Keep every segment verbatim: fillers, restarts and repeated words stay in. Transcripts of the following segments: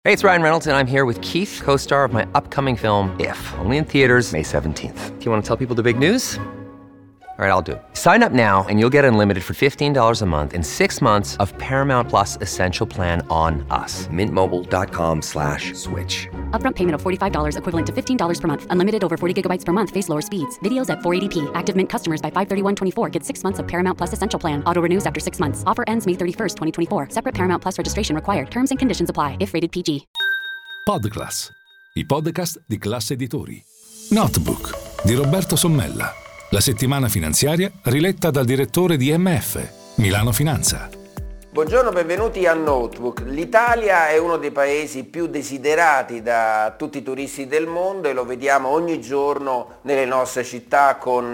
Hey, it's Ryan Reynolds, and I'm here with Keith, co-star of my upcoming film, If, only in theaters May seventeenth. Do you want to tell people the big news? All right, I'll do it. Sign up now and you'll get unlimited for fifteen dollars a month and six months of Paramount Plus Essential Plan on us. Mint Mobile dot com slash switch. Upfront payment of forty-five dollars equivalent to fifteen dollars per month. Unlimited over forty gigabytes per month. Face lower speeds. Videos at four eighty p. Active Mint customers by five thirty-one twenty-four get six months of Paramount Plus Essential Plan. Auto renews after six months. Offer ends May thirty-first, twenty twenty-four. Separate Paramount Plus registration required. Terms and conditions apply if rated P G. Podclass, i podcast di Classe Editori. Notebook di Roberto Sommella. La settimana finanziaria riletta dal direttore di M F, Milano Finanza. Buongiorno, benvenuti a Notebook. L'Italia è uno dei paesi più desiderati da tutti i turisti del mondo e lo vediamo ogni giorno nelle nostre città con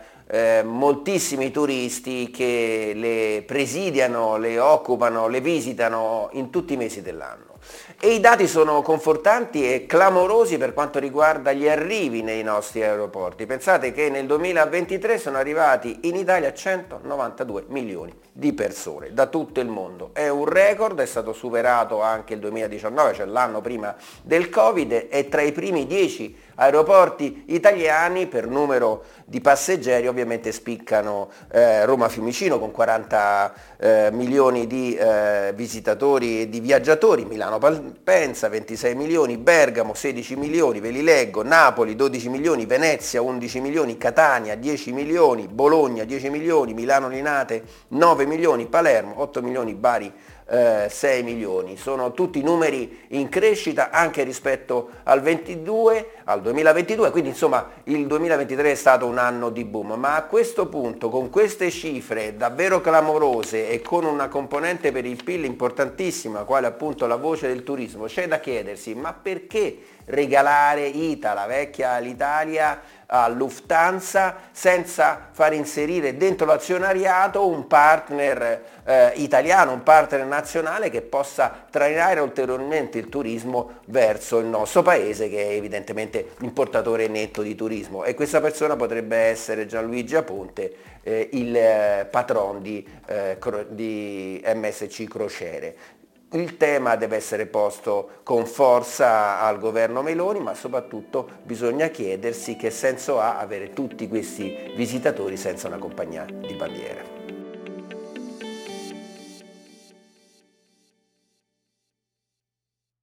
eh, moltissimi turisti che le presidiano, le occupano, le visitano in tutti i mesi dell'anno. E i dati sono confortanti e clamorosi per quanto riguarda gli arrivi nei nostri aeroporti. Pensate che nel duemilaventitré sono arrivati in Italia centonovantadue milioni di persone da tutto il mondo. È un record, è stato superato anche il duemiladiciannove, cioè l'anno prima del Covid, e tra i primi dieci aeroporti italiani per numero di passeggeri ovviamente spiccano eh, Roma Fiumicino con quaranta eh, milioni di eh, visitatori e di viaggiatori, Milano Malpensa ventisei milioni, Bergamo sedici milioni, ve li leggo: Napoli dodici milioni, Venezia undici milioni, Catania dieci milioni, Bologna dieci milioni, Milano Linate nove milioni, Palermo otto milioni, Bari eh, sei milioni. Sono tutti numeri in crescita anche rispetto al ventidue, al duemilaventidue, quindi insomma il duemilaventitré è stato un anno di boom, ma a questo punto, con queste cifre davvero clamorose e con una componente per il P I L importantissima, quale appunto la voce del turismo, c'è da chiedersi: ma perché regalare I T A, la vecchia Alitalia, a Lufthansa senza far inserire dentro l'azionariato un partner eh, italiano, un partner nazionale che possa trainare ulteriormente il turismo verso il nostro paese, che è evidentemente importatore netto di turismo, e questa persona potrebbe essere Gianluigi Aponte, eh, il eh, patron di, eh, cro- di M S C Crociere. Il tema deve essere posto con forza al governo Meloni, ma soprattutto bisogna chiedersi che senso ha avere tutti questi visitatori senza una compagnia di bandiera.